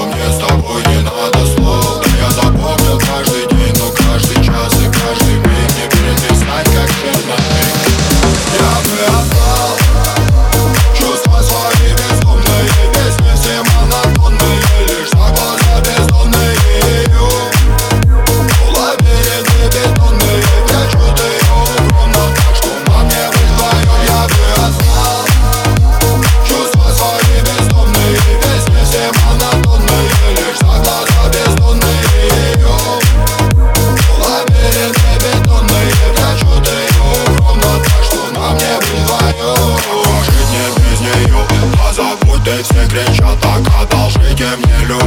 что мне с тобой не надо слов. Да я запомнил каждый день, но каждый час и каждый миг не переписать, как черновик. Я бы отдал чувства свои безумные, песни все монотонные, лишь за глаза бездонные ее. Лабиринты бетонные, прячу ты ее укромно, так что на мне быть вдвоем. Я бы отдал чувства свои бездомные, песни все монотонные, лишь за глаза бездонные ее. Лабиринты бетонные, прячу ты ее укромно, так что на мне быть вдвоем. Жить не без нее, а забудь ты, все кричат так, одолжите мне любовь.